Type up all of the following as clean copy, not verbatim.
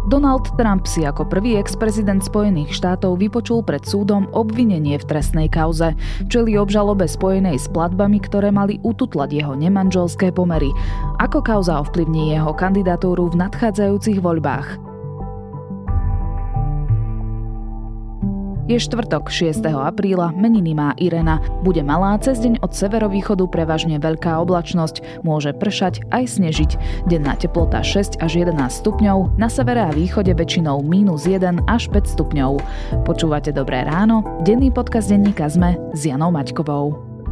Donald Trump si ako prvý ex-prezident Spojených štátov vypočul pred súdom obvinenie v trestnej kauze. Čelí obžalobe spojenej s platbami, ktoré mali ututlať jeho nemanželské pomery. Ako kauza ovplyvní jeho kandidatúru v nadchádzajúcich voľbách? Je štvrtok, 6. apríla, meniny má Irena. Bude malá, cez deň od severovýchodu prevažne veľká oblačnosť, môže pršať aj snežiť. Denná teplota 6 až 11 stupňov, na severe a východe väčšinou -1 až 5 stupňov. Počúvate Dobré ráno, denný podcast denníka SME s Janou Maťkovou.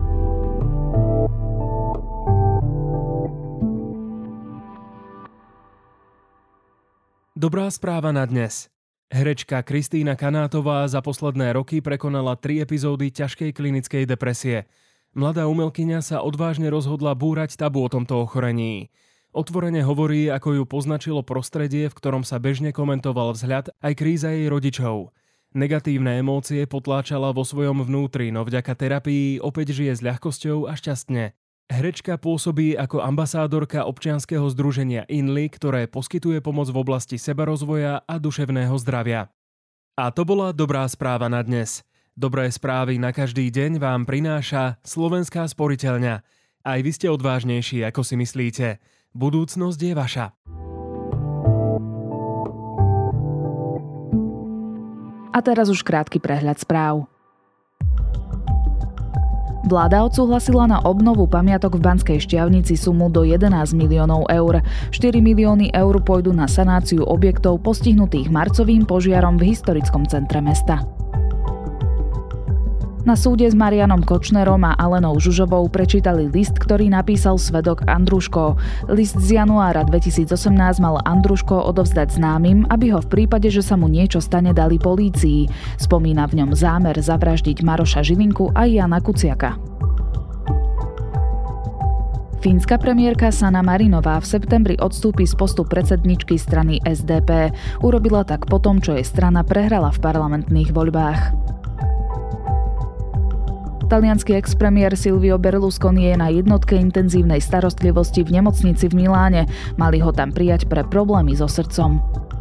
Dobrá správa na dnes. Herečka Kristína Kanátová za posledné roky prekonala 3 epizódy ťažkej klinickej depresie. Mladá umelkyňa sa odvážne rozhodla búrať tabu o tomto ochorení. Otvorene hovorí, ako ju poznačilo prostredie, v ktorom sa bežne komentoval vzhľad aj kríza jej rodičov. Negatívne emócie potláčala vo svojom vnútri, no vďaka terapii opäť žije s ľahkosťou a šťastne. Herečka pôsobí ako ambasádorka občianskeho združenia INLI, ktoré poskytuje pomoc v oblasti sebarozvoja a duševného zdravia. A to bola dobrá správa na dnes. Dobré správy na každý deň vám prináša Slovenská sporiteľňa. Aj vy ste odvážnejší, ako si myslíte. Budúcnosť je vaša. A teraz už krátky prehľad správ. Vláda odsúhlasila na obnovu pamiatok v Banskej Štiavnici sumu do 11 miliónov eur. 4 milióny eur pôjdu na sanáciu objektov postihnutých marcovým požiarom v historickom centre mesta. Na súde s Marianom Kočnerom a Alenou Žužovou prečítali list, ktorý napísal svedok Andruško. List z januára 2018 mal Andruško odovzdať známym, aby ho v prípade, že sa mu niečo stane, dali polícii. Spomína v ňom zámer zavraždiť Maroša Žilinku a Jana Kuciaka. Fínska premiérka Sanna Marinová v septembri odstúpi z postu predsedničky strany SDP. Urobila tak potom, čo jej strana prehrala v parlamentných voľbách. Taliansky ex-premiér Silvio Berlusconi je na jednotke intenzívnej starostlivosti v nemocnici v Miláne. Mali ho tam prijať pre problémy so srdcom.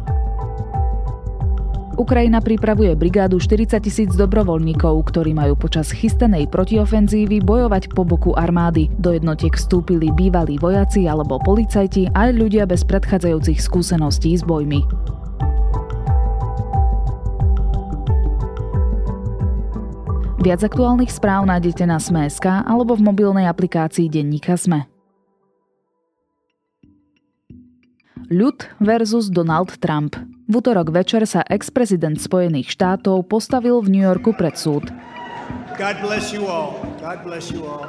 Ukrajina pripravuje brigádu 40 000 dobrovoľníkov, ktorí majú počas chystanej protiofenzívy bojovať po boku armády. Do jednotiek vstúpili bývalí vojaci alebo policajti aj ľudia bez predchádzajúcich skúseností s bojmi. Viac aktuálnych správ nájdete na Sme.sk alebo v mobilnej aplikácii denníka SME. Ľud versus Donald Trump. V utorok večer sa ex-prezident Spojených štátov postavil v New Yorku pred súd. God bless you all. God bless you all.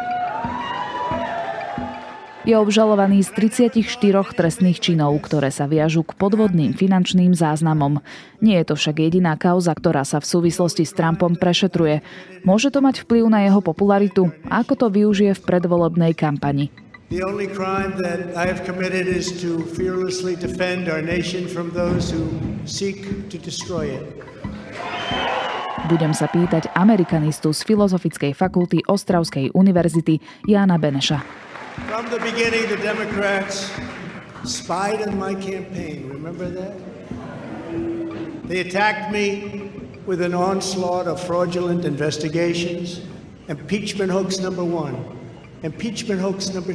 Je obžalovaný z 34 trestných činov, ktoré sa viažú k podvodným finančným záznamom. Nie je to však jediná kauza, ktorá sa v súvislosti s Trumpom prešetruje. Môže to mať vplyv na jeho popularitu? Ako to využije v predvolebnej kampani? The only crime that I have committed is to fearlessly defend our nation from those who seek to destroy it. Budem sa pýtať amerikanistu z Filozofickej fakulty Ostravskej univerzity Jána Beneša. From the beginning, the Democrats spied on my campaign. Remember that? They attacked me with an onslaught of fraudulent investigations. Impeachment hoax number 1. Impeachment hoax number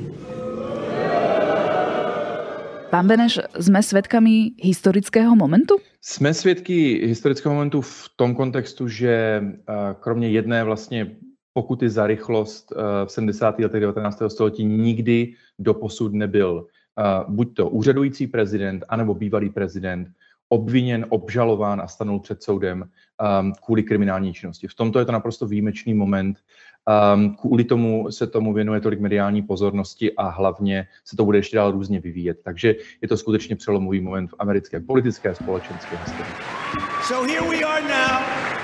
2. Pán Beneš, sme svedkami historického momentu? Jsme svědky historického momentu v tom kontextu, že kromě jedné vlastně pokuty za rychlost v 70. letech 19. století nikdy doposud nebyl buď to úřadující prezident, anebo bývalý prezident obviněn, obžalován a stanul před soudem kvůli kriminální činnosti. V tomto je to naprosto výjimečný moment. Kvůli tomu se tomu věnuje tolik mediální pozornosti a hlavně se to bude ještě dál různě vyvíjet. Takže je to skutečně přelomový moment v americké politické a společenské historii. So here we are now.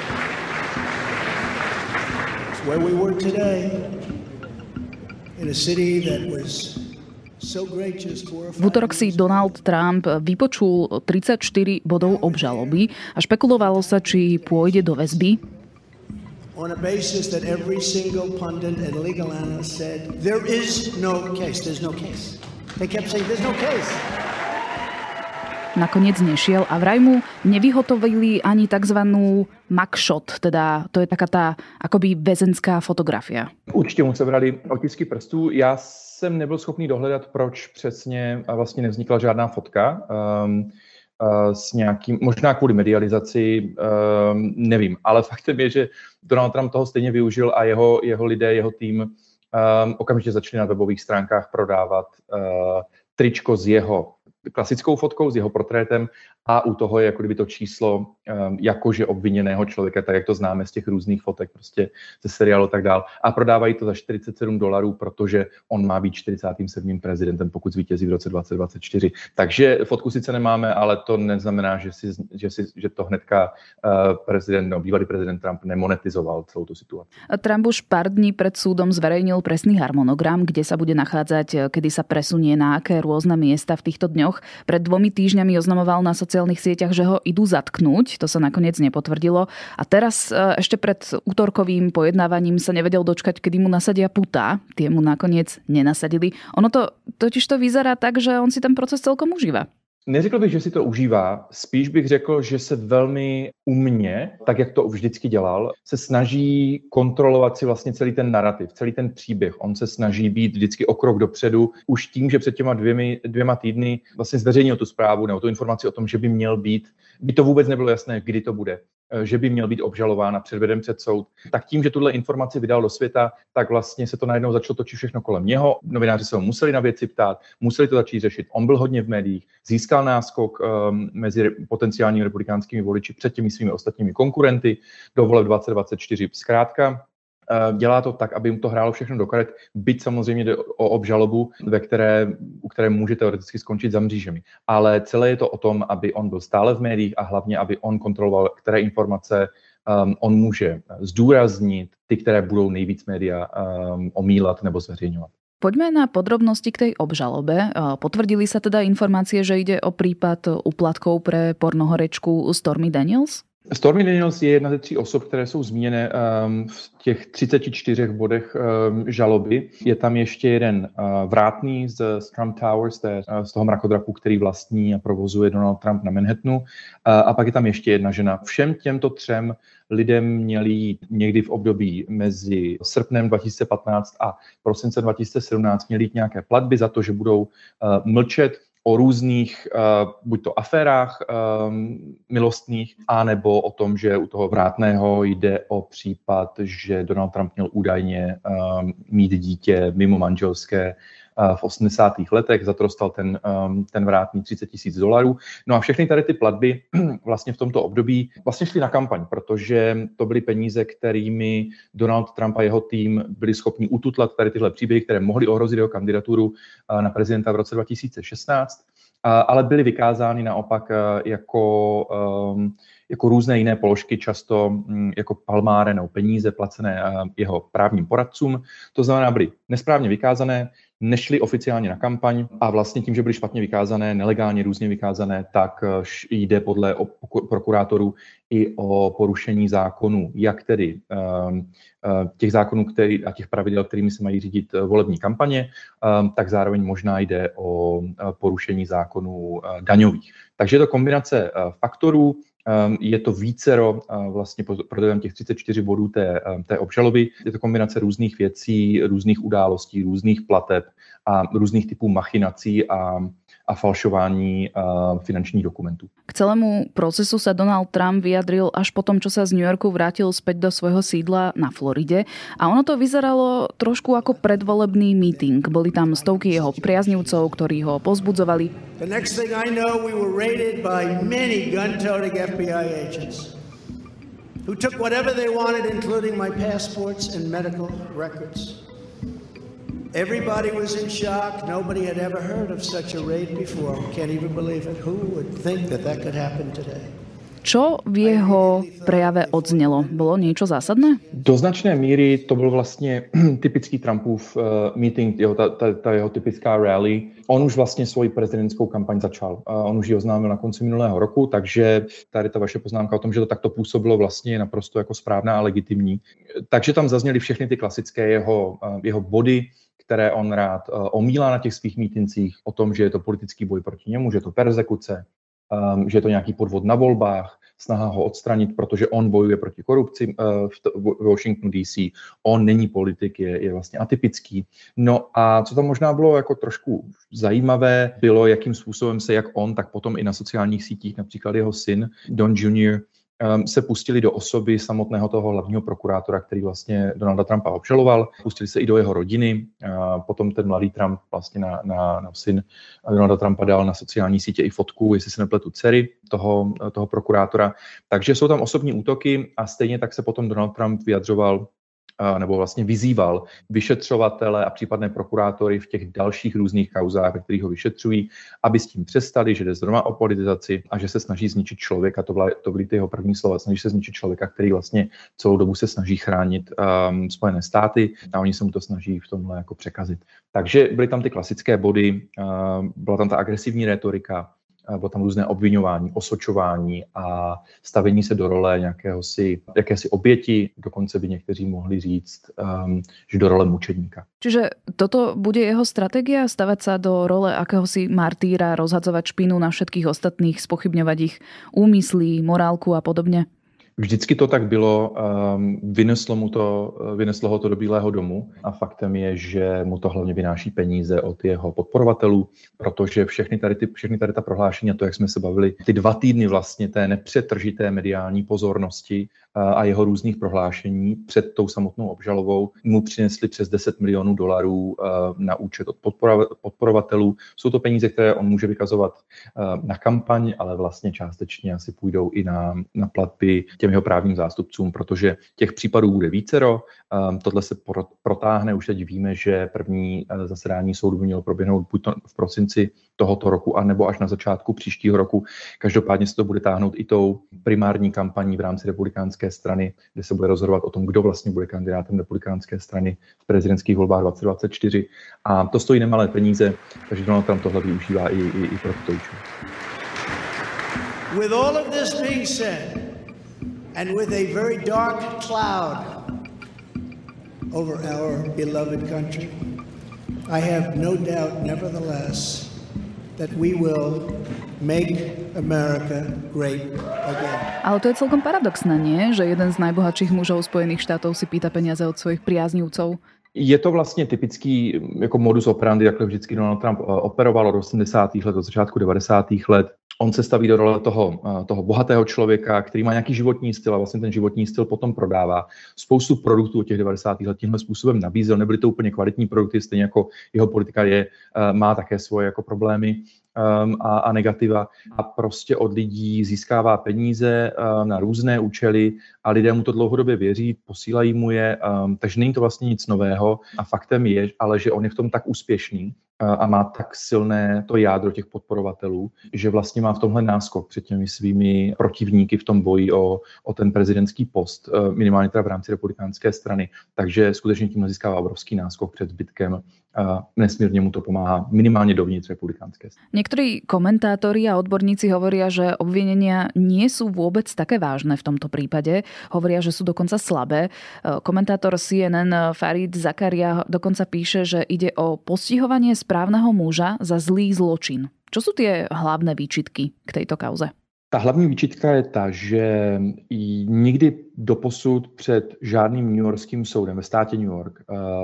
Where we were today, in a city that was so great just 4 or 5 V útorok si Donald Trump vypočul 34 bodov obžaloby a špekulovalo sa, či pôjde do väzby. On a basis that every single pundit and legal analyst said, there is no case, there's no case. They kept saying, there's no case. nakoniec nešiel a vraj mu nevyhotovili ani takzvanú mugshot, teda to je taká tá akoby väzenská fotografia. Určitě mu sebrali otisky prstů. Já jsem nebyl schopný dohledat, proč přesně vlastně nevznikla žádná fotka. S nějakým, možná kvůli medializaci, nevím, ale faktem je, že Donald Trump toho stejně využil a jeho lidé, jeho tým okamžitě začali na webových stránkách prodávat tričko s jeho klasickou fotkou, s jeho portrétem a u toho je jako kdyby to číslo jakože obviněného člověka, tak jak to známe z těch různých fotek, prostě ze seriálu a tak dál. A prodávají to za $47, protože on má být 47. prezidentem, pokud zvítězí v roce 2024. Takže fotku sice nemáme, ale to neznamená, že to hnedka bývalý prezident Trump nemonetizoval celou tu situaci. Trump už pár dní pred súdom zverejnil presný harmonogram, kde sa bude nachádzať, kedy sa presunie na aké rôzne miesta v týchto dňoch. Pred 2 týždňami oznamoval na sociálnych sieťach, že ho idú zatknúť. To sa nakoniec nepotvrdilo. A teraz ešte pred útorkovým pojednávaním sa nevedel dočkať, kedy mu nasadia putá. Tie mu nakoniec nenasadili. Ono to totiž to vyzerá tak, že on si ten proces celkom užíva. Neřekl bych, že si to užívá, spíš bych řekl, že se velmi umně, tak jak to vždycky dělal, se snaží kontrolovat si vlastně celý ten narrativ, celý ten příběh. On se snaží být vždycky o krok dopředu, už tím, že před těma dvěma týdny vlastně zveřejnil tu zprávu nebo tu informaci o tom, že by měl být, by to vůbec nebylo jasné, kdy to bude, že by měl být obžalován a předveden před soud. Tak tím, že tuhle informaci vydal do světa, tak vlastně se to najednou začalo točit všechno kolem něho. Novináři se ho museli na věci ptát, museli to začít řešit. On byl hodně v médiích, získal náskok mezi potenciálními republikánskými voliči před těmi svými ostatními konkurenty do voleb 2024. Zkrátka dělá to tak, aby mu to hrálo všechno do karet, byť samozřejmě jde o obžalobu, u které může teoreticky skončit za mřížemi. Ale celé je to o tom, aby on byl stále v médiích a hlavně, aby on kontroloval, které informace on může zdůraznit, ty, které budou nejvíc média omílat nebo zveřejňovat. Poďme na podrobnosti k tej obžalobe. Potvrdili sa teda informácie, že ide o prípad úplatkov pre pornohorečku Stormy Daniels? Stormy Daniels je jedna ze 3 osob, které jsou zmíněné v těch 34 bodech žaloby. Je tam ještě jeden vrátný z Trump Towers, z toho mrakodrapu, který vlastní a provozuje Donald Trump na Manhattanu. A pak je tam ještě jedna žena. Všem těmto 3 lidem měli jít někdy v období mezi srpnem 2015 a prosincem 2017 měli jít nějaké platby za to, že budou mlčet o různých, buď to aférách milostných, anebo o tom, že u toho vrátného jde o případ, že Donald Trump měl údajně mít dítě mimo manželské v 80. letech, za to dostal ten vrátný $30,000. No a všechny tady ty platby vlastně v tomto období vlastně šly na kampaň, protože to byly peníze, kterými Donald Trump a jeho tým byli schopni ututlat tady tyhle příběhy, které mohly ohrozit jeho kandidaturu na prezidenta v roce 2016, ale byly vykázány naopak jako různé jiné položky, často jako palmáre nebo peníze placené jeho právním poradcům. To znamená, byly nesprávně vykázané, nešly oficiálně na kampaň a vlastně tím, že byly špatně vykázané, nelegálně různě vykázané, tak jde podle prokurátorů i o porušení zákonů, jak tedy těch zákonů a těch pravidel, kterými se mají řídit volební kampaně, tak zároveň možná jde o porušení zákonů daňových. Takže je to kombinace faktorů, je to vícero vlastně pro těch 34 bodů té obžaloby. Je to kombinace různých věcí, různých událostí, různých plateb a různých typů machinací a falšování finančných dokumentů. K celému procesu sa Donald Trump vyjadril až po tom, čo sa z New Yorku vrátil späť do svojho sídla na Floride. A ono to vyzeralo trošku ako predvolebný meeting. Boli tam stovky jeho priaznivcov, ktorí ho povzbudzovali. The next thing I know, we were raided by many gun-toting FBI agents who took whatever they wanted, including my passports and medical records. Everybody was in shock. Nobody had ever heard of such a raid before. Can't even believe it. Who would think that could happen today? Čo v jeho prejave odznelo? Bolo niečo zásadné? Do značné míry to byl vlastně typický Trumpův meeting, ta jeho typická rally. On už vlastně svoji prezidentskou kampaň začal. On už ji oznámil na konci minulého roku, takže tady ta vaše poznámka o tom, že to takto působilo, vlastně je naprosto jako správná a legitimní. Takže tam zazněly všechny ty klasické jeho body, které on rád omílá na těch svých mítincích, o tom, že je to politický boj proti němu, že je to perzekuce, že je to nějaký podvod na volbách, snaha ho odstranit, protože on bojuje proti korupci v Washingtonu DC, on není politik, je vlastně atypický. No a co tam možná bylo jako trošku zajímavé, bylo, jakým způsobem se jak on, tak potom i na sociálních sítích, například jeho syn Don Jr., se pustili do osoby samotného toho hlavního prokurátora, který vlastně Donalda Trumpa obžaloval. Pustili se i do jeho rodiny. Potom ten mladý Trump vlastně na syn Donalda Trumpa dal na sociální sítě i fotku, jestli se nepletu, dcery toho prokurátora. Takže jsou tam osobní útoky a stejně tak se potom Donald Trump vyjadřoval nebo vlastně vyzýval vyšetřovatele a případné prokurátory v těch dalších různých kauzách, ve kterých ho vyšetřují, aby s tím přestali, že jde zrovna o politizaci a že se snaží zničit člověka, to byly ty jeho první slova, snaží se zničit člověka, který vlastně celou dobu se snaží chránit Spojené státy a oni se mu to snaží v tomhle jako překazit. Takže byly tam ty klasické body, byla tam ta agresivní rétorika, bylo tam různé obviňování, osočování a stavení se do role jakési oběti, dokonce by někteří mohli říct, že do role mučedníka. Čiže toto bude jeho stratégia, stavať sa do role akéhosi martýra, rozhadzovať špínu na všetkých ostatných, spochybňovať ich úmysly, morálku a podobne? Vždycky to tak bylo, vyneslo ho to do Bílého domu a faktem je, že mu to hlavně vynáší peníze od jeho podporovatelů, protože všechny tady ta prohlášení, a to, jak jsme se bavili, ty 2 týdny vlastně té nepřetržité mediální pozornosti a jeho různých prohlášení před tou samotnou obžalovou mu přinesli přes $10 milionů na účet od podporovatelů. Jsou to peníze, které on může vykazovat na kampaň, ale vlastně částečně asi půjdou i na platby těm jeho právním zástupcům, protože těch případů bude vícero. Tohle se protáhne, už teď víme, že první zasedání soudu by mělo proběhnout buď v prosinci tohoto roku, anebo až na začátku příštího roku. Každopádně se to bude táhnout i tou primární kampaní v rámci republikánské strany, kde se bude rozhodovat o tom, kdo vlastně bude kandidátem republikánské strany v prezidentských volbách 2024. A to stojí nemalé peníze, takže Donald Trump tohle využívá i pro tuto účel. With all of this being said, and with a very dark cloud over our beloved country, I have no doubt, nevertheless, that we will make America great again. Ale to je celkom paradoxné, nie? Že jeden z najbohatších mužov Spojených štátov si pýta peniaze od svojich priaznivcov. Je to vlastně typický jako modus operandi, jak vždycky Donald Trump operoval od 80. let do začátku 90. let. On se staví do role toho bohatého člověka, který má nějaký životní styl a vlastně ten životní styl potom prodává. Spoustu produktů od těch 90. let tímhle způsobem nabízel, nebyly to úplně kvalitní produkty, stejně jako jeho politika má také svoje jako problémy a negativa a prostě od lidí získává peníze na různé účely a lidé mu to dlouhodobě věří, posílají mu je, takže není to vlastně nic nového a faktem je, ale že on je v tom tak úspěšný a má tak silné to jádro těch podporovatelů, že vlastně má v tomhle náskok před těmi svými protivníky v tom boji o ten prezidentský post, minimálně teda v rámci republikánské strany. Takže skutečně tím získává obrovský náskok před zbytkem. Nesmírne mu to pomáha minimálne dovnitř republikánske. Niektorí komentátori a odborníci hovoria, že obvinenia nie sú vôbec také vážne v tomto prípade. Hovoria, že sú dokonca slabé. Komentátor CNN Farid Zakaria dokonca píše, že ide o postihovanie správneho muža za zlý zločin. Čo sú tie hlavné výčitky k tejto kauze? Ta hlavní výčitka je ta, že nikdy doposud před žádným newyorským soudem ve státě New York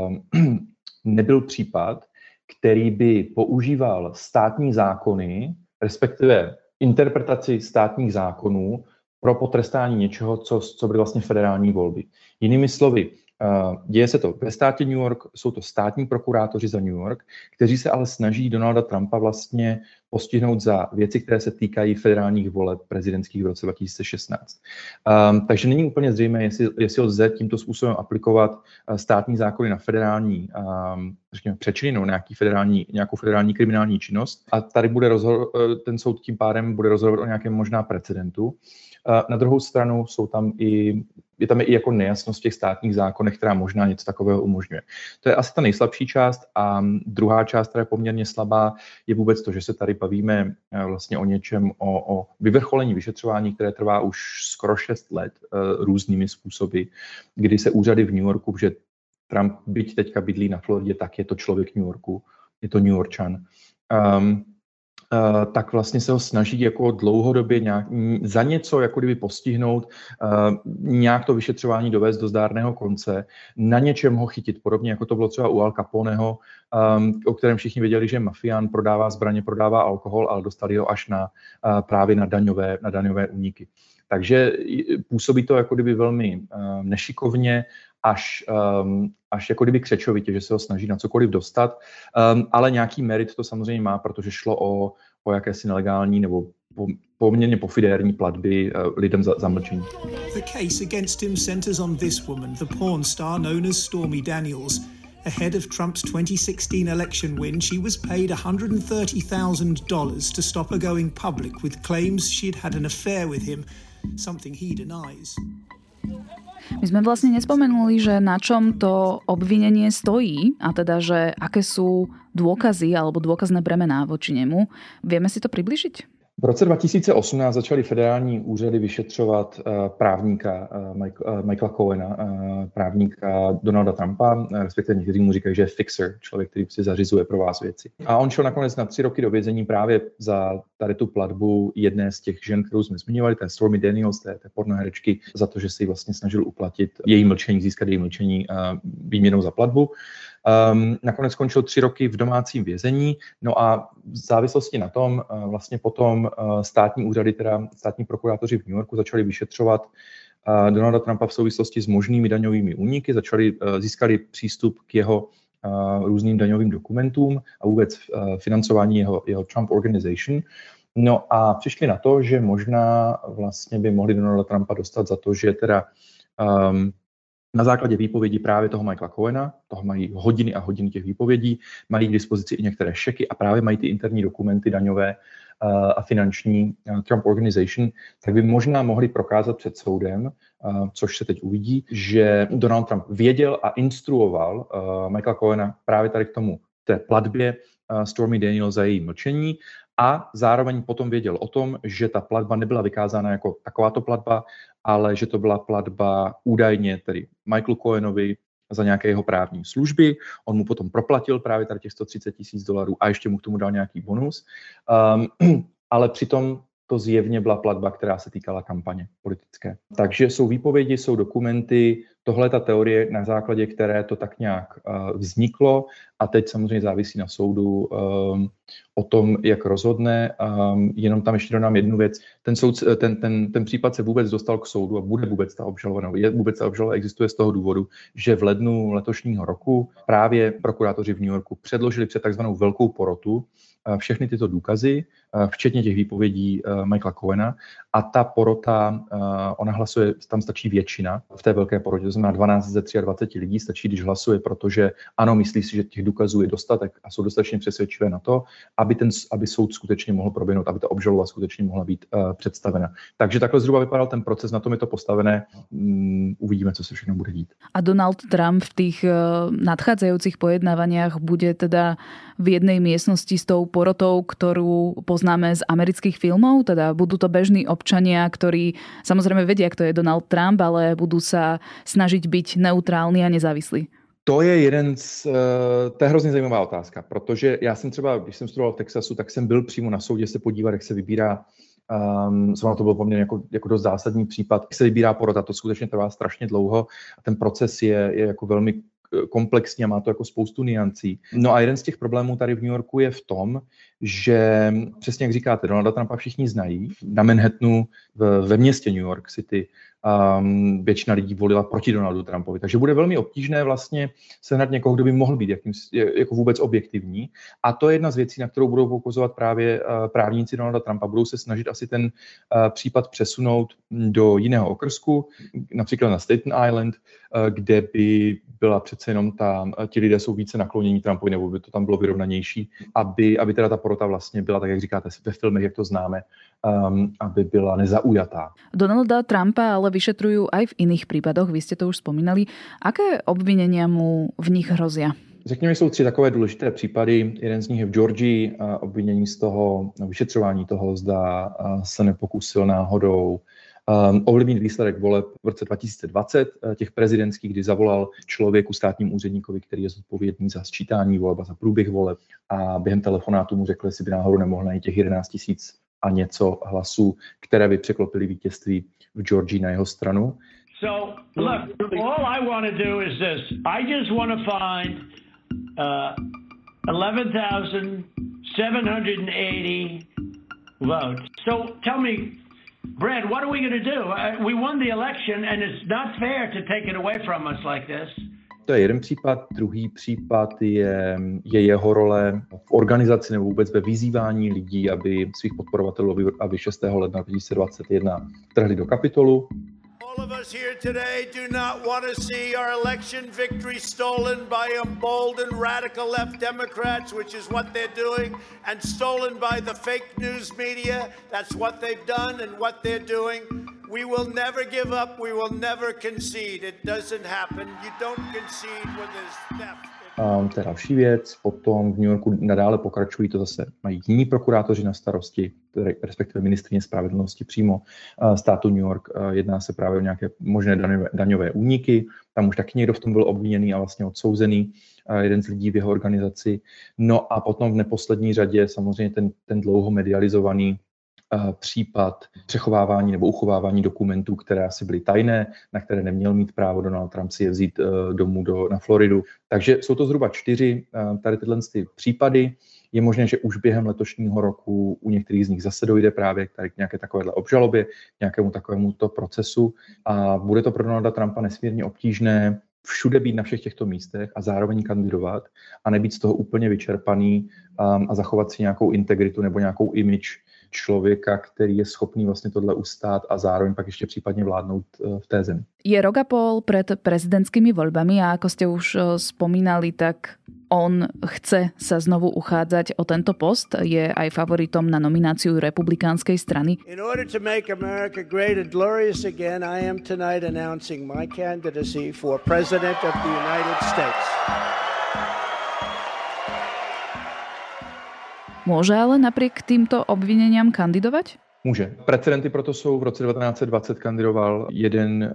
nebyl případ, který by používal státní zákony, respektive interpretaci státních zákonů pro potrestání něčeho, co byly vlastně federální volby. Jinými slovy, děje se to ve státě New York, jsou to státní prokurátoři za New York, kteří se ale snaží Donalda Trumpa vlastně postihnout za věci, které se týkají federálních voleb prezidentských v roce 2016. Takže není úplně zřejmé, jestli lze tímto způsobem aplikovat státní zákony na federální přečiny nebo nějakou federální kriminální činnost. A tady ten soud tím pádem bude rozhodovat o nějakém možná precedentu. Na druhou stranu je tam i jako nejasnost v těch státních zákonech, která možná něco takového umožňuje. To je asi ta nejslabší část a druhá část, která je poměrně slabá, je vůbec to, že se tady bavíme vlastně o něčem, o vyvrcholení vyšetřování, které trvá už skoro 6 let různými způsoby, kdy se úřady v New Yorku, že Trump byť teďka bydlí na Floridě, tak je to člověk New Yorku, je to New Yorkčan. tak vlastně se ho snaží jako dlouhodobě za něco jako kdyby postihnout, nějak to vyšetřování dovést do zdárného konce, na něčem ho chytit, podobně jako to bylo třeba u Al Caponeho, o kterém všichni věděli, že je mafián, prodává zbraně, prodává alkohol, ale dostali ho až právě na daňové úniky. Takže působí to jako kdyby velmi nešikovně, až jako kdyby křečovitě, že se ho snaží na cokoliv dostat, ale nějaký merit to samozřejmě má, protože šlo o jakési nelegální nebo poměrně pofidérní platby lidem za mlčení. The case against him centers on this woman, the porn star known as Stormy Daniels. Ahead of Trump's 2016 election win, she was paid $130,000 to stop her going public with claims she'd had an affair with him, something he denies. My sme vlastne nespomenuli, že na čom to obvinenie stojí, a teda, že aké sú dôkazy alebo dôkazné bremená voči nemu. Vieme si to približiť? V roce 2018 začaly federální úřady vyšetřovat právníka Michaela Cohena, právníka Donalda Trumpa, respektive někteří mu říkají, že je fixer, člověk, který si zařizuje pro vás věci. A on šel nakonec na 3 roky do vězení právě za tady tu platbu jedné z těch žen, kterou jsme zmiňovali, té Stormy Daniels, té pornoherečky, za to, že si vlastně snažil uplatit její mlčení, získat její mlčení výměnou za platbu. Nakonec skončil 3 roky v domácím vězení, no a v závislosti na tom vlastně potom státní úřady, teda státní prokurátoři v New Yorku začali vyšetřovat Donalda Trumpa v souvislosti s možnými daňovými úniky, získali přístup k jeho různým daňovým dokumentům a vůbec financování jeho Trump Organization. No a přišli na to, že možná vlastně by mohli Donalda Trumpa dostat za to, že teda na základě výpovědi právě toho Michaela Cohena, toho mají hodiny a hodiny těch výpovědí, mají k dispozici i některé šeky a právě mají ty interní dokumenty daňové a finanční Trump Organization, tak by možná mohli prokázat před soudem, což se teď uvidí, že Donald Trump věděl a instruoval Michaela Cohena právě tady k tomu té platbě Stormy Daniels za její mlčení a zároveň potom věděl o tom, že ta platba nebyla vykázána jako takováto platba, ale že to byla platba údajně tedy Michaelu Cohenovi za nějaké jeho právní služby. On mu potom proplatil právě tady těch $130,000 a ještě mu k tomu dal nějaký bonus. Ale přitom to zjevně byla platba, která se týkala kampaně politické. Takže jsou výpovědi, jsou dokumenty, tohle je ta teorie, na základě které to tak nějak vzniklo a teď samozřejmě závisí na soudu o tom, jak rozhodne. Jenom tam ještě dodám jednu věc. Ten případ se vůbec dostal k soudu a bude vůbec ta obžaloba, vůbec ta obžaloba existuje z toho důvodu, že v lednu letošního roku právě prokurátoři v New Yorku předložili před takzvanou velkou porotu všechny tyto důkazy, včetně těch výpovědí Michaela Cohena a ta porota, ona hlasuje, tam stačí většina v té velké porotě, to znamená 12 ze 23 lidí stačí, když hlasuje, protože ano, myslí si, že těch důkazů je dostatek a jsou dostatečně přesvědčivé na to, aby soud skutečně mohl proběhnout, aby ta obžaloba skutečně mohla být představena. Takže takhle zhruba vypadal ten proces, na tom je to postavené, uvidíme, co se všechno bude dít. A Donald Trump v tých nadchádzajúcich pojednávaniach bude teda v jednej miestnosti s tou porotou, ktorú poznáme z amerických filmov, teda budú to bežní občania, ktorí samozrejme vedia, kto je Donald Trump, ale budú sa snažiť byť neutrálni a nezávislí. To je to je hrozně zajímavá otázka, protože já jsem třeba, když jsem studoval v Texasu, tak jsem byl přímo na soudě se podívat, jak se vybírá, to byl poměrně jako dost zásadní případ, jak se vybírá porota, to skutečně trvá strašně dlouho a ten proces je jako velmi komplexní a má to jako spoustu niancí. No a jeden z těch problémů tady v New Yorku je v tom, že přesně jak říkáte, Donalda Trumpa všichni znají. Na Manhattanu ve městě New York City většina lidí volila proti Donaldu Trumpovi. Takže bude velmi obtížné vlastně sehnat někoho, kdo by mohl být jako vůbec objektivní. A to je jedna z věcí, na kterou budou poukazovat právě právníci Donalda Trumpa. Budou se snažit asi ten případ přesunout do jiného okrsku, například na Staten Island, kde by byla přece jenom ti lidé jsou více naklonění Trumpovi, nebo by to tam bylo vyrovnanější, aby teda ta porota vlastně byla, tak jak říkáte, ve filmech, jak to známe, aby byla nezaujatá. Donalda Trumpa ale vyšetrujú aj v iných prípadoch, vy ste to už spomínali. Aké obvinenia mu v nich hrozia? Řekněme, jsou 3 takové důležité případy. Jeden z nich je v Georgii, obvinění z toho, vyšetřování toho, zda se nepokusil náhodou ovlivnit výsledek voleb v roce 2020, těch prezidentských, kdy zavolal člověku, státnímu úředníkovi, který je zodpovědný za sčítání voleb a za průběh voleb, a během telefonátu mu řekl, jestli by náhodou nemohl najít těch 11 000 a něco hlasů, které by překlopily vítězství v Georgii na jeho stranu. So, look, all I want to do is this. I just want to find 11,780 votes. So tell me, Brad, what are we going to do? We won the election and it's not fair to take it away from us like this. To je jeden případ. Druhý případ je jeho role v organizaci nebo vůbec ve vyzývání lidí, aby svých podporovatelů, aby 6. ledna 2021 vtrhli do Kapitolu. All of us here today do not want to see our election victory stolen by emboldened radical left Democrats, which is what they're doing, and stolen by the fake news media. That's what they've done and what they're doing. We will never give up. We will never concede. It doesn't happen. You don't concede when there's theft. To je další věc. Potom v New Yorku nadále pokračují, to zase mají jiní prokurátoři na starosti, respektive ministryně spravedlnosti přímo státu New York. Jedná se právě o nějaké možné daňové úniky. Tam už taky někdo v tom byl obviněný a vlastně odsouzený, jeden z lidí v jeho organizaci. No a potom v neposlední řadě samozřejmě ten dlouho medializovaný případ přechovávání nebo uchovávání dokumentů, které asi byly tajné, na které neměl mít právo Donald Trump si je vzít domů na Floridu. Takže jsou to zhruba 4 tady tyhle případy. Je možné, že už během letošního roku u některých z nich zase dojde právě k nějaké takovéhle obžalobě, nějakému takovému to procesu a bude to pro Donalda Trumpa nesmírně obtížné všude být na všech těchto místech a zároveň kandidovat a nebýt z toho úplně vyčerpaný a zachovat si nějakou integritu nebo nějakou image člověka, který je schopný vlastně tohle ustát a zároveň pak ještě případně vládnout v té zemi. Je rok a pol pred prezidentskými voľbami a ako ste už spomínali, tak on chce sa znovu uchádzať o tento post. Je aj favoritom na nomináciu republikánskej strany. In order to make America great and glorious again, I am tonight announcing my candidacy for President of the United States. Môže ale napriek týmto obvineniam kandidovať? Může. Precedenty proto jsou. V roce 1920 kandidoval jeden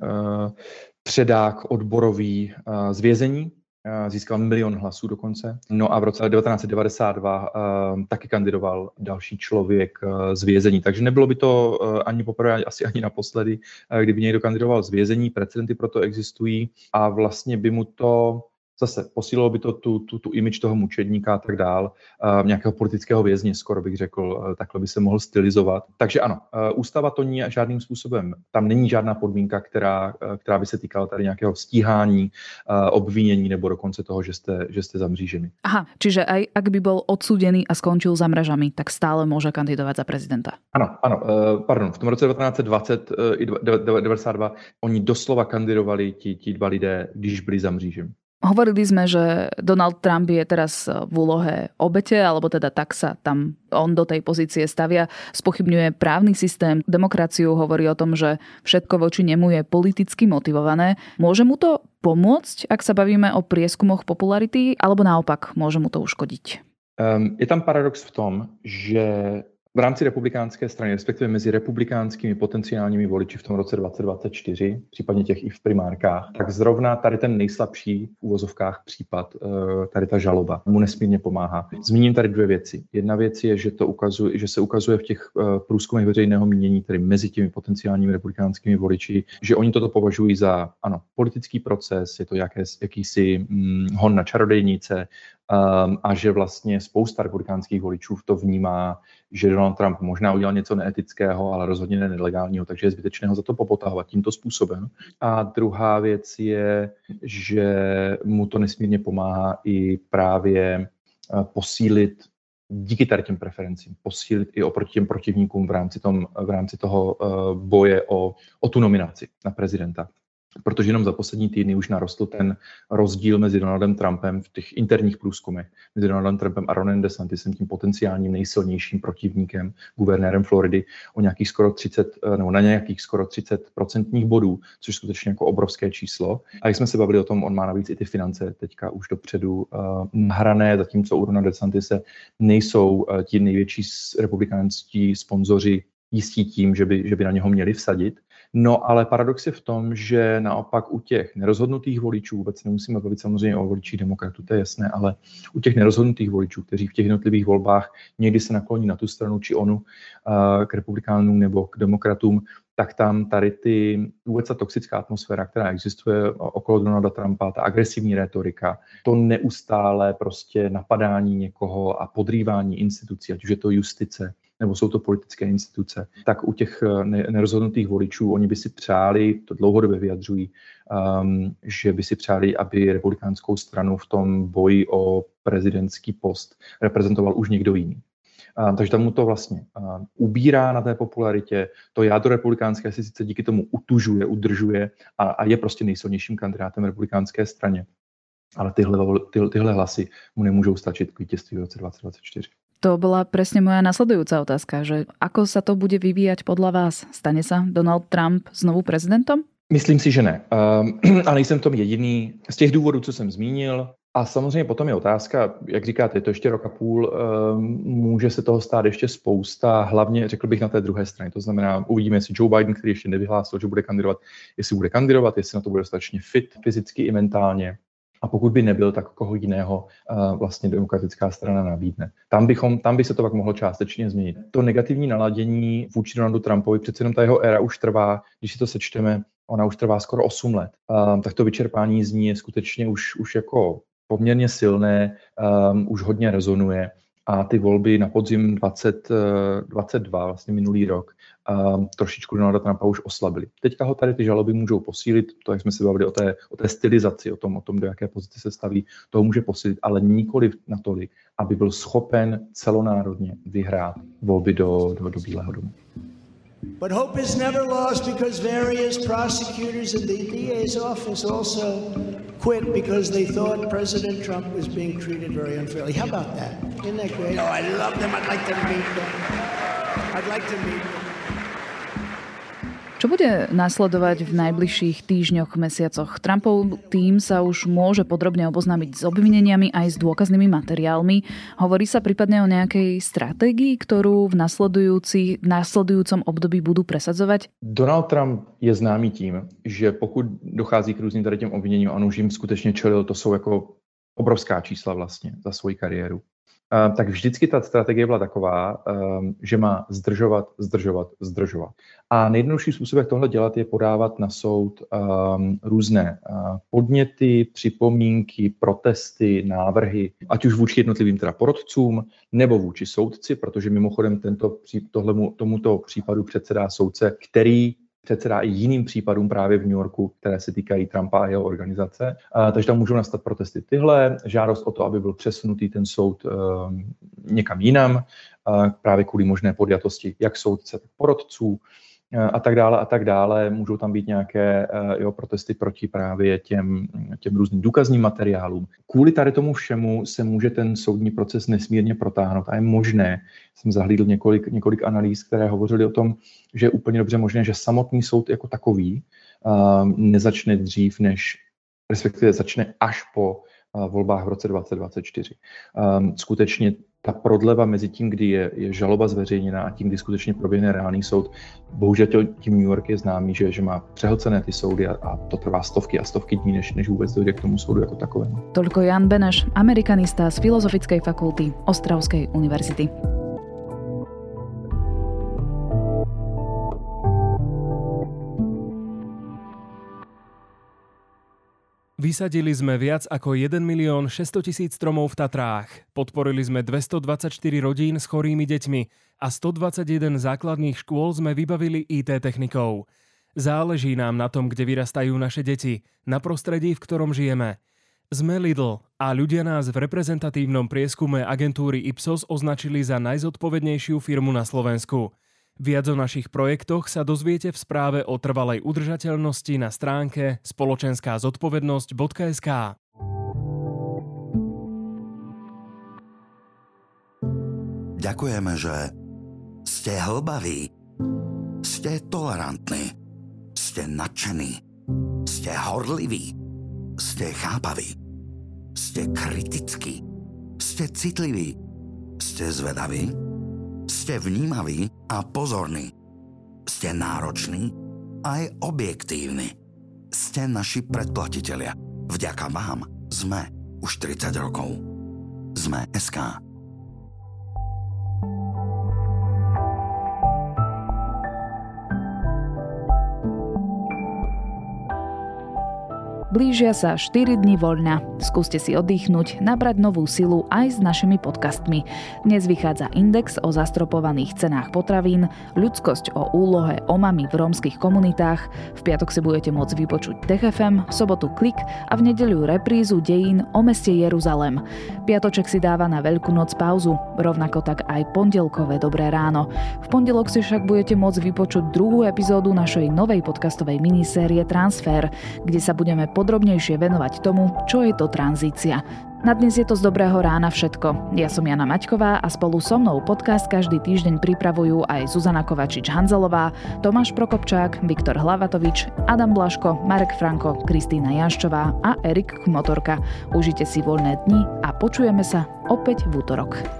předák odborový z vězení, získal 1 milion hlasů dokonce. No a v roce 1992 taky kandidoval další člověk z vězení. Takže nebylo by to ani poprvé, asi ani naposledy, kdyby někdo kandidoval z vězení. Precedenty proto existují a vlastně by mu to zase posílilo by to tu image toho mučedníka a tak dál, nějakého politického vězně, skoro bych řekl, takhle by se mohl stylizovat. Takže ano, ústava to ní žádným způsobem, tam není žádná podmínka, která by se týkala tady nějakého stíhání, obvinění nebo dokonce toho, že jste za mřížemi. Aha, čiže aj ak by bol odsúdený a skončil za mražami, tak stále môže kandidovať za prezidenta. Ano, pardon, v tom roce 1920 i 1992 oni doslova kandidovali ti dva lidé, když byli za mřížemi. Hovorili sme, že Donald Trump je teraz v úlohe obete, alebo teda tak sa tam on do tej pozície stavia. Spochybňuje právny systém, demokraciu, hovorí o tom, že všetko voči nemu je politicky motivované. Môže mu to pomôcť, ak sa bavíme o prieskumoch popularity, alebo naopak môže mu to uškodiť? Je tam paradox v tom, že v rámci republikánské strany, respektive mezi republikánskými potenciálními voliči v tom roce 2024, případně těch i v primárkách, tak zrovna tady ten nejslabší v úvozovkách případ, tady ta žaloba, mu nesmírně pomáhá. Zmíním tady 2 věci. Jedna věc je, že se ukazuje v těch průzkumech veřejného mínění, tedy mezi těmi potenciálními republikánskými voliči, že oni toto považují za, ano, politický proces, je to jakýsi hon na čarodejnice, a že vlastně spousta republikánských voličů to vnímá, že Donald Trump možná udělal něco neetického, ale rozhodně ne nelegálního, takže je zbytečné ho za to popotahovat tímto způsobem. A druhá věc je, že mu to nesmírně pomáhá i právě posílit díky tady těm preferencím, posílit i oproti těm protivníkům v rámci toho boje o tu nominaci na prezidenta. Protože jenom za poslední týdny už narostl ten rozdíl mezi Donaldem Trumpem v těch interních průzkumech, mezi Donaldem Trumpem a Ronem DeSantisem, tím potenciálním nejsilnějším protivníkem, guvernérem Floridy, o nějakých skoro 30, nebo na nějakých skoro 30% bodů, což je skutečně jako obrovské číslo. A jak jsme se bavili o tom, on má navíc i ty finance teďka už dopředu nahrané, zatímco u Rona DeSantise nejsou ti největší republikánští sponzoři jistí tím, že by na něho měli vsadit. No ale paradox je v tom, že naopak u těch nerozhodnutých voličů, vůbec nemusíme bavit samozřejmě o voličích demokratů, to je jasné, ale u těch nerozhodnutých voličů, kteří v těch jednotlivých volbách někdy se nakloní na tu stranu či onu, k republikánům nebo k demokratům, tak tam tady vůbec ta toxická atmosféra, která existuje okolo Donalda Trumpa, ta agresivní rétorika, to neustále prostě napadání někoho a podrývání institucí, ať už je to justice, nebo jsou to politické instituce, tak u těch nerozhodnutých voličů oni by si přáli, to dlouhodobě vyjadřují, že by si přáli, aby republikánskou stranu v tom boji o prezidentský post reprezentoval už někdo jiný. Takže tam mu to vlastně ubírá na té popularitě. To jádro republikánské si sice díky tomu utužuje, udržuje a je prostě nejsilnějším kandidátem republikánské straně. Ale tyhle hlasy mu nemůžou stačit k vítězství v roce 2024. To bola presne moja nasledujúca otázka, že ako sa to bude vyvíjať podľa vás? Stane sa Donald Trump znovu prezidentom? Myslím si, že ne. A nejsem v tom jediný. Z těch důvodů, co jsem zmínil. A samozřejmě potom je otázka, jak říkáte, je to ještě rok a půl, může se toho stát ještě spousta, hlavně řekl bych na té druhé straně. To znamená, uvidíme, jestli Joe Biden, který ještě nevyhlásil, že bude kandidovat, jestli na to bude dostatečně fit fyzicky i mentálně. A pokud by nebyl, tak koho jiného vlastně demokratická strana nabídne. Tam by se to pak mohlo částečně změnit. To negativní naladění vůči Donaldu Trumpovi, přece jenom ta jeho éra už trvá, když si to sečteme, ona už trvá skoro 8 let. Tak to vyčerpání z ní je skutečně už jako poměrně silné, už hodně rezonuje. A ty volby na podzim 2022, vlastně minulý rok, trošičku Donalda Trumpa už oslabily. Teďka ho tady ty žaloby můžou posílit, to, jak jsme se bavili o té stylizaci, o tom, do jaké pozice se staví, toho může posílit, ale nikoliv natolik, aby byl schopen celonárodně vyhrát volby do Bílého domu. But hope is never lost because various prosecutors in the DA's office also quit because they thought President Trump was being treated very unfairly. How about that? Isn't that great? Oh, I love them. I'd like to meet them. Čo bude nasledovať v najbližších týždňoch, mesiacoch? Trumpov tým sa už môže podrobne oboznámiť s obvineniami aj s dôkaznými materiálmi. Hovorí sa prípadne o nejakej stratégii, ktorú v nasledujúcom období budú presadzovať? Donald Trump je známý tím, že pokud dochází k různým tady těm obviněním, on už jim skutečně čelil, to jsou jako obrovská čísla vlastně za svoji kariéru. Tak vždycky ta strategie byla taková, že má zdržovat. A nejjednodušší způsob, jak tohle dělat, je podávat na soud různé podněty, připomínky, protesty, návrhy, ať už vůči jednotlivým teda porotcům, nebo vůči soudci, protože mimochodem tomuto případu předsedá soudce, který předsedá i jiným případům právě v New Yorku, které se týkají Trumpa a jeho organizace. Takže tam můžou nastat protesty tyhle, žádost o to, aby byl přesunutý ten soud někam jinam, právě kvůli možné podjatosti jak soudce, tak porotců a tak dále. Můžou tam být nějaké protesty proti právě těm různým důkazním materiálům. Kvůli tady tomu všemu se může ten soudní proces nesmírně protáhnout a je možné, jsem zahlídl několik analýz, které hovořily o tom, že je úplně dobře možné, že samotný soud jako takový nezačne dřív, respektive začne až po volbách v roce 2024. Skutečně ta prodleva mezi tím, kdy je žaloba zveřejněná a tím, kdy skutečně proběhne reálný soud, bohužel tím New York je známý, že má přehlcené ty soudy a to trvá stovky a stovky dní, než vůbec dojde k tomu soudu jako takovému. Toľko Jan Beneš, amerikanista z Filozofickej fakulty Ostravskej univerzity. Vysadili sme viac ako 1 600 000 stromov v Tatrách. Podporili sme 224 rodín s chorými deťmi a 121 základných škôl sme vybavili IT technikou. Záleží nám na tom, kde vyrastajú naše deti, na prostredí, v ktorom žijeme. Sme Lidl a ľudia nás v reprezentatívnom prieskume agentúry Ipsos označili za najzodpovednejšiu firmu na Slovensku. Viac o našich projektoch sa dozviete v správe o trvalej udržateľnosti na stránke spoločenská-zodpovednosť.sk. Ďakujeme, že ste hlbaví, ste tolerantní, ste nadšení, ste horliví, ste chápaví, ste kritickí, ste citliví, ste zvedaví, ste vnímaví a pozorní. Ste nároční aj objektívni. Ste naši predplatitelia. Vďaka vám sme už 30 rokov. Sme.sk. Blížia sa 4 dni voľna. Skúste si oddychnúť, nabrať novú silu aj s našimi podcastmi. Dnes vychádza Index o zastropovaných cenách potravín, Ľudskosť o úlohe omami v rómskych komunitách, v piatok si budete môcť vypočuť Tech FM, v sobotu Klik a v nedeľu reprízu dejín o meste Jeruzalem. Piatoček si dáva na Veľkú noc pauzu, rovnako tak aj pondelkové Dobré ráno. V pondelok si však budete môcť vypočuť druhú epizódu našej novej podcastovej minisérie Transfer, kde sa budeme podrobnejšie venovať tomu, čo je to tranzícia. Na dnes je to z Dobrého rána všetko. Ja som Jana Maťková a spolu so mnou podcast každý týždeň pripravujú aj Zuzana Kovačič-Hanzelová, Tomáš Prokopčák, Viktor Hlavatovič, Adam Blaško, Marek Franko, Kristína Janščová a Erik Kmotorka. Užite si voľné dni a počujeme sa opäť v útorok.